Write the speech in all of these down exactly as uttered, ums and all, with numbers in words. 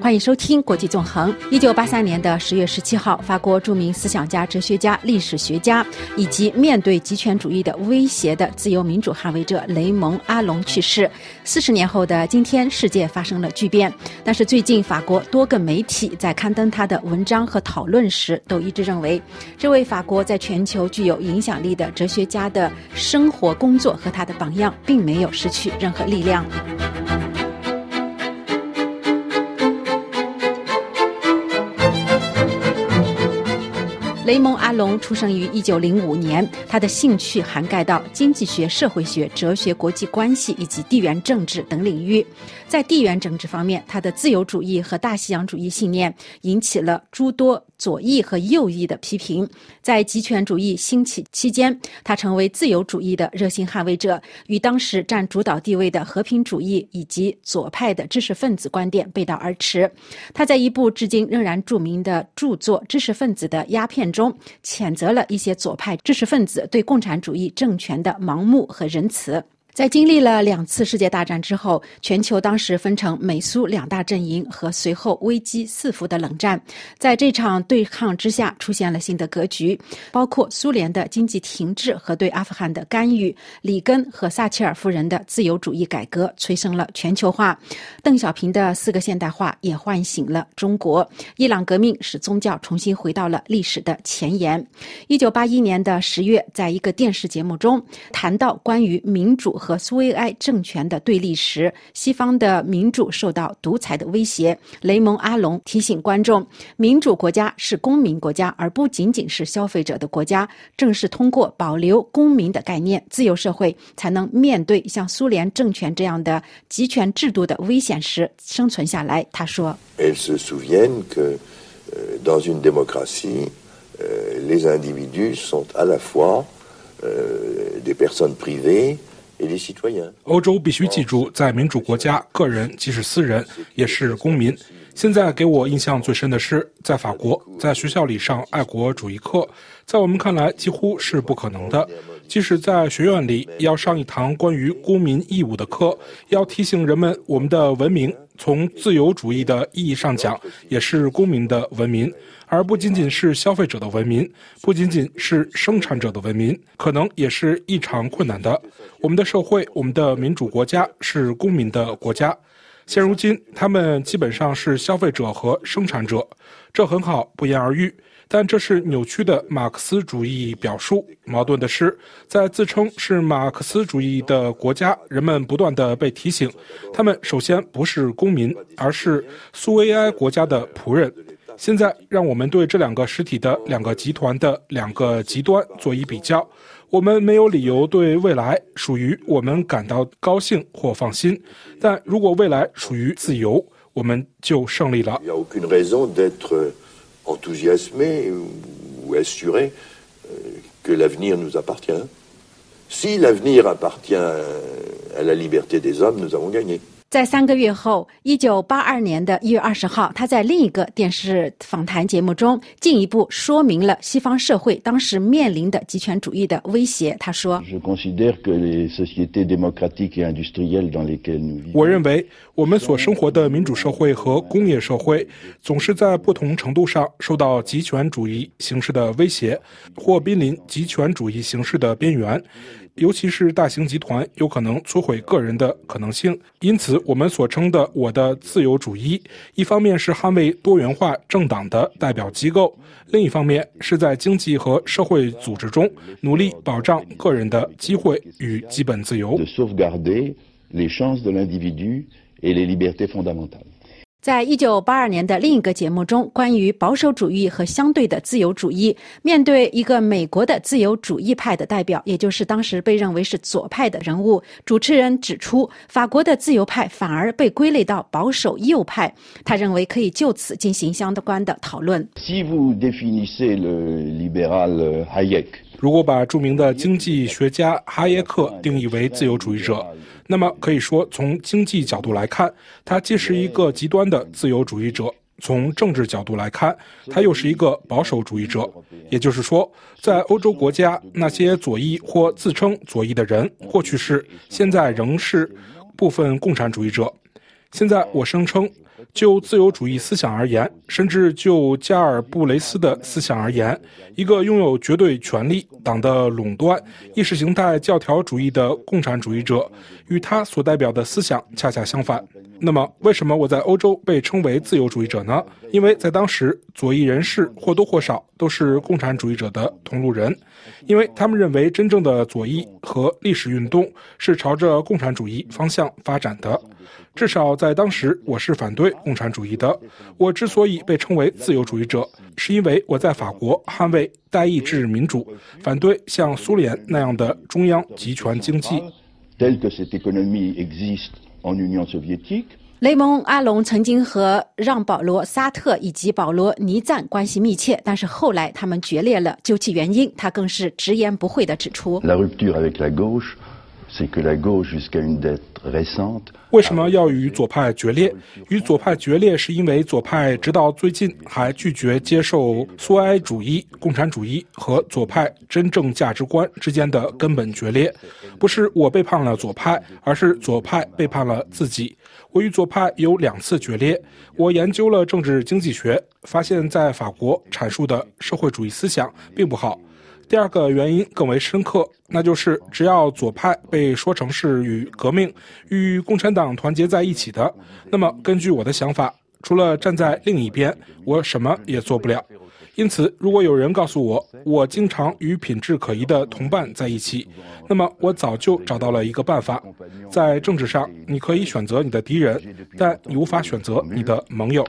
欢迎收听国际纵横。一九八三年的十月十七号，法国著名思想家、哲学家、历史学家以及面对极权主义的威胁的自由民主捍卫者雷蒙·阿隆去世。四十年后的今天，世界发生了巨变。但是最近，法国多个媒体在刊登他的文章和讨论时，都一致认为，这位法国在全球具有影响力的哲学家的生活、工作和他的榜样，并没有失去任何力量。雷蒙·阿隆出生于一九零五年，他的兴趣涵盖到经济学、社会学、哲学、国际关系以及地缘政治等领域。在地缘政治方面，他的自由主义和大西洋主义信念引起了诸多左翼和右翼的批评。在极权主义兴起期间，他成为自由主义的热心捍卫者，与当时占主导地位的和平主义以及左派的知识分子观点背道而驰。他在一部至今仍然著名的著作《知识分子的鸦片》中，谴责了一些左派知识分子对共产主义政权的盲目和仁慈。在经历了两次世界大战之后，全球当时分成美苏两大阵营和随后危机四伏的冷战。在这场对抗之下，出现了新的格局，包括苏联的经济停滞和对阿富汗的干预，里根和撒切尔夫人的自由主义改革催生了全球化，邓小平的四个现代化也唤醒了中国，伊朗革命使宗教重新回到了历史的前沿。一九八一年的十月，在一个电视节目中谈到关于民主和苏维埃政权的对立时，西方的民主受到独裁的威胁。雷蒙·阿隆提醒观众，民主国家是公民国家，而不仅仅是消费者的国家。正是通过保留公民的概念，自由社会才能面对像苏联政权这样的集权制度的危险时生存下来。他说 Elles se souviennent que dans une démocratie, les individus sont à la fois des personnes privées。 欧洲必须记住，在民主国家，个人即使私人也是公民。现在给我印象最深的是，在法国，在学校里上爱国主义课，在我们看来几乎是不可能的。即使在学院里要上一堂关于公民义务的课，要提醒人们我们的文明从自由主义的意义上讲也是公民的文明，而不仅仅是消费者的文明，不仅仅是生产者的文明，可能也是异常困难的。我们的社会，我们的民主国家是公民的国家，现如今他们基本上是消费者和生产者，这很好，不言而喻。但这是扭曲的马克思主义表述。矛盾的是，在自称是马克思主义的国家，人们不断地被提醒，他们首先不是公民，而是苏维埃国家的仆人。现在让我们对这两个实体的两个集团的两个极端做一比较。我们没有理由对未来属于我们感到高兴或放心，但如果未来属于自由，我们就胜利了。 enthousiasmé ou assuré que l'avenir nous appartient. Si l'avenir appartient à la liberté des hommes, nous avons gagné. 在三个月后，一九八二年的一月二十号，他在另一个电视访谈节目中进一步说明了西方社会当时面临的极权主义的威胁。他说：“ 我认为我们所生活的民主社会和工业社会总是在不同程度上受到极权主义形式的威胁，或濒临极权主义形式的边缘。”尤其是大型集团有可能摧毁个人的可能性，因此我们所称的我的自由主义，一方面是捍卫多元化政党的代表机构，另一方面是在经济和社会组织中努力保障个人的机会与基本自由。 在一九八二年的另一个节目中，关于保守主义和相对的自由主义，面对一个美国的自由主义派的代表，也就是当时被认为是左派的人物，主持人指出，法国的自由派反而被归类到保守右派。他认为可以就此进行相关的讨论。 Si vous définissez le libéral Hayek， 如果把著名的经济学家哈耶克定义为自由主义者，那么可以说从经济角度来看，他既是一个极端的自由主义者，从政治角度来看，他又是一个保守主义者。也就是说，在欧洲国家，那些左翼或自称左翼的人，过去是，现在仍是部分共产主义者。 现在我声称，就自由主义思想而言，甚至就加尔布雷斯的思想而言，一个拥有绝对权力、党的垄断、意识形态教条主义的共产主义者，与他所代表的思想恰恰相反。那么，为什么我在欧洲被称为自由主义者呢？因为在当时，左翼人士或多或少都是共产主义者的同路人，因为他们认为真正的左翼和历史运动是朝着共产主义方向发展的。至少在当时，我是反对共产主义的。我之所以被称为自由主义者，是因为我在法国捍卫代议制民主，反对像苏联那样的中央集权经济。 雷蒙·阿隆曾经和让·保罗·沙特以及保罗·尼赞关系密切，但是后来他们决裂了。究其原因，他更是直言不讳地指出， 为什么要与左派决裂？与左派决裂是因为左派直到最近还拒绝接受苏维埃主义、共产主义和左派真正价值观之间的根本决裂。不是我背叛了左派，而是左派背叛了自己。我与左派有两次决裂。我研究了政治经济学，发现在法国阐述的社会主义思想并不好。第二个原因更为深刻，那就是只要左派被说成是与革命、与共产党团结在一起的，那么根据我的想法，除了站在另一边，我什么也做不了。因此，如果有人告诉我，我经常与品质可疑的同伴在一起，那么我早就找到了一个办法。在政治上，你可以选择你的敌人，但你无法选择你的盟友。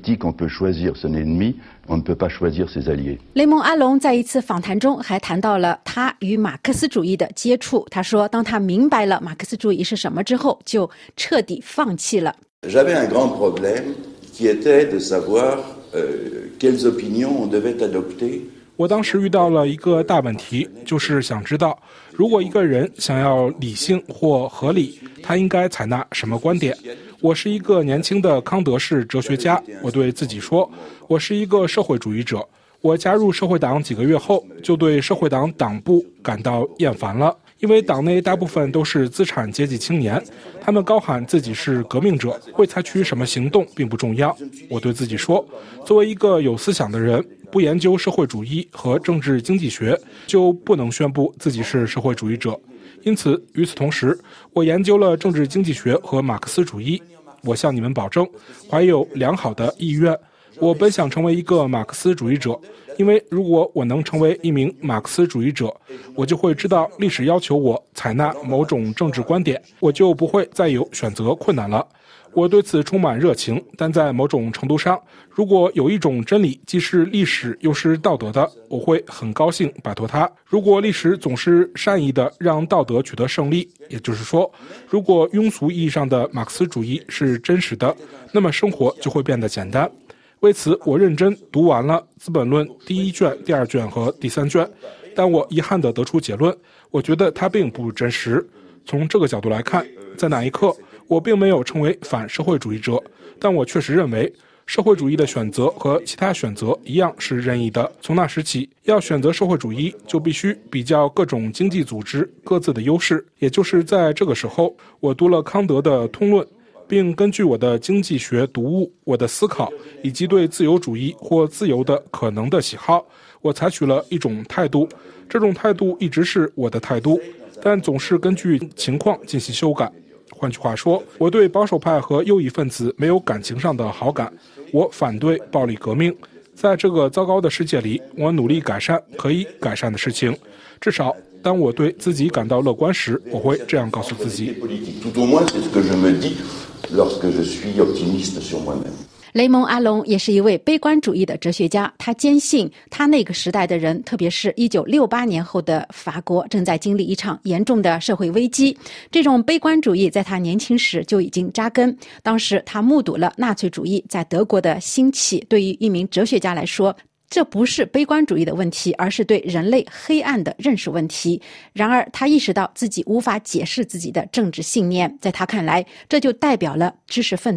雷蒙·阿隆在一次访谈中还谈到了他与马克思主义的接触。他说，当他明白了马克思主义是什么之后，就彻底放弃了。 J'avais un grand problème qui était de savoir quelles opinions on devait adopter。 我当时遇到了一个大问题，就是想知道，如果一个人想要理性或合理，他应该采纳什么观点。我是一个年轻的康德式哲学家，我对自己说，我是一个社会主义者。我加入社会党几个月后，就对社会党党部感到厌烦了，因为党内大部分都是资产阶级青年，他们高喊自己是革命者，会采取什么行动并不重要。我对自己说，作为一个有思想的人，不研究社会主义和政治经济学，就不能宣布自己是社会主义者。因此，与此同时，我研究了政治经济学和马克思主义。我向你们保证，怀有良好的意愿。我本想成为一个马克思主义者，因为如果我能成为一名马克思主义者，我就会知道历史要求我采纳某种政治观点，我就不会再有选择困难了。我对此充满热情，但在某种程度上，如果有一种真理既是历史又是道德的，我会很高兴摆脱它。如果历史总是善意的让道德取得胜利，也就是说，如果庸俗意义上的马克思主义是真实的，那么生活就会变得简单。为此，我认真读完了《资本论》第一卷、第二卷和第三卷，但我遗憾地得出结论，我觉得它并不真实。从这个角度来看，在那一刻，我并没有成为反社会主义者，但我确实认为，社会主义的选择和其他选择一样是任意的。从那时起，要选择社会主义，就必须比较各种经济组织各自的优势。也就是在这个时候，我读了康德的《通论》，并根据我的经济学读物、我的思考以及对自由主义或自由的可能的喜好，我采取了一种态度。这种态度一直是我的态度，但总是根据情况进行修改。换句话说，我对保守派和右翼分子没有感情上的好感，我反对暴力革命。在这个糟糕的世界里，我努力改善可以改善的事情。至少当我对自己感到乐观时，我会这样告诉自己。 雷蒙·阿隆也是一位悲观主义的哲学家，他坚信他那个时代的人，特别是一九六八年后的法国，正在经历一场严重的社会危机。这种悲观主义在他年轻时就已经扎根，当时他目睹了纳粹主义在德国的兴起。对于一名哲学家来说，这不是悲观主义的问题，而是对人类黑暗的认识问题。然而他意识到自己无法解释自己的政治信念，在他看来，这就代表了知识分子的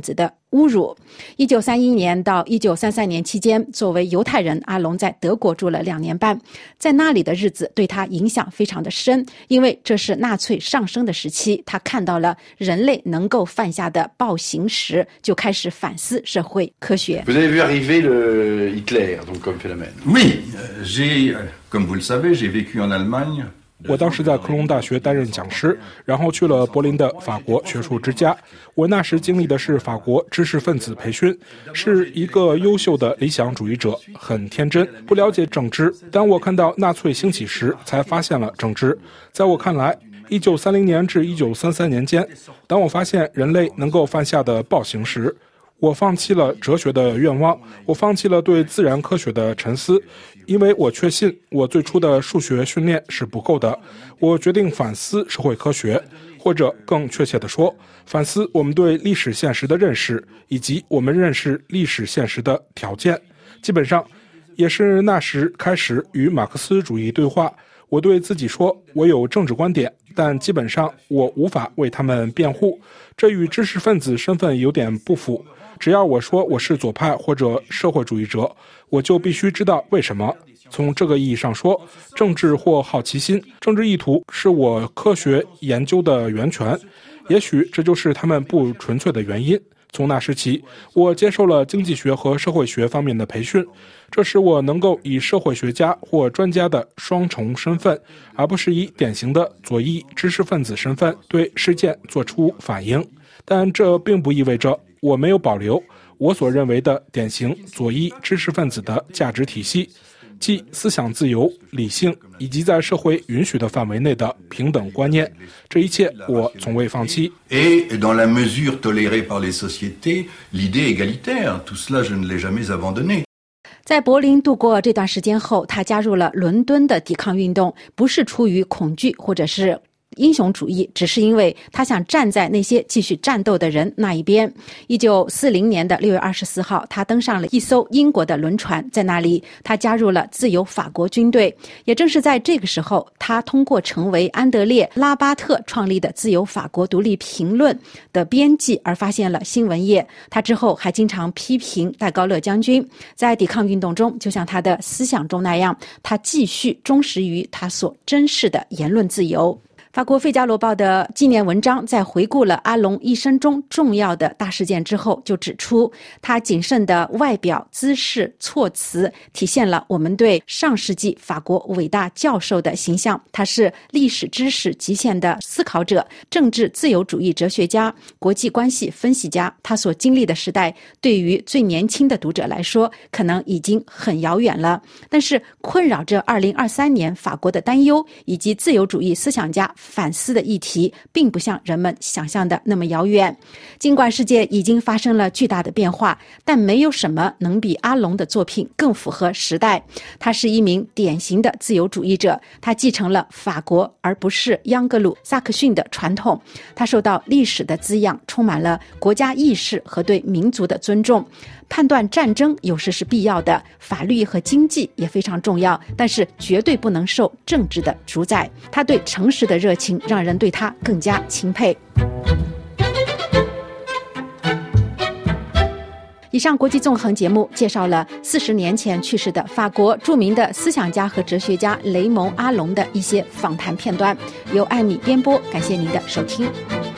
侮辱。一九三一年到一九三三年期间，作为犹太人，阿龙在德国住了两年半，在那里的日子对他影响非常的深，因为这是纳粹上升的时期，他看到了人类能够犯下的暴行时，就开始反思社会科学。 Vous avez vu arriver le Hitler, donc comme phénomène. Oui, j'ai, comme vous le savez, j'ai vécu en Allemagne. 我当时在科隆大学担任讲师，然后去了柏林的法国学术之家。我那时经历的是法国知识分子培训，是一个优秀的理想主义者，很天真，不了解政治。当我看到纳粹兴起时，才发现了政治。在我看来，一九三零年至一九三三年间，当我发现人类能够犯下的暴行时，我放弃了哲学的愿望，我放弃了对自然科学的沉思，因为我确信我最初的数学训练是不够的。我决定反思社会科学，或者更确切地说，反思我们对历史现实的认识，以及我们认识历史现实的条件。基本上也是那时开始与马克思主义对话。我对自己说，我有政治观点，但基本上我无法为他们辩护，这与知识分子身份有点不符。只要我说我是左派或者社会主义者，我就必须知道为什么。从这个意义上说，政治或好奇心、政治意图是我科学研究的源泉，也许这就是他们不纯粹的原因。从那时起，我接受了经济学和社会学方面的培训，这使我能够以社会学家或专家的双重身份，而不是以典型的左翼知识分子身份对事件做出反应。但这并不意味着我没有保留我所认为的典型左翼知识分子的价值体系，即思想自由、理性以及在社会允许的范围内的平等观念。这一切我从未放弃。 Et dans la mesure tolérée par les sociétés, l'idée égalitaire, tout cela je ne l'ai jamais abandonné. 在柏林度过这段时间后，他加入了伦敦的抵抗运动，不是出于恐惧或者是英雄主义，只是因为他想站在那些继续战斗的人那一边。一九四零年的六月二十四号，他登上了一艘英国的轮船，在那里他加入了自由法国军队。也正是在这个时候，他通过成为安德烈·拉巴特创立的自由法国独立评论的编辑而发现了新闻业。他之后还经常批评戴高乐将军。在抵抗运动中，就像他的思想中那样，他继续忠实于他所珍视的言论自由。法国《费加罗报》的纪念文章在回顾了阿龙一生中重要的大事件之后，就指出他谨慎的外表、姿势、措辞体现了我们对上世纪法国伟大教授的形象。他是历史知识极限的思考者，政治自由主义哲学家，国际关系分析家。他所经历的时代对于最年轻的读者来说可能已经很遥远了，但是困扰着二零二三年法国的担忧以及自由主义思想家反思的议题并不像人们想象的那么遥远。尽管世界已经发生了巨大的变化，但没有什么能比阿龙的作品更符合时代。他是一名典型的自由主义者，他继承了法国而不是央格鲁萨克逊的传统。他受到历史的滋养，充满了国家意识和对民族的尊重。判断战争有时是必要的，法律和经济也非常重要，但是绝对不能受政治的主宰。他对诚实的热情让人对他更加钦佩。以上国际纵横节目介绍了四十年前去世的法国著名的思想家和哲学家雷蒙·阿龙的一些访谈片段，由艾米编播，感谢您的收听。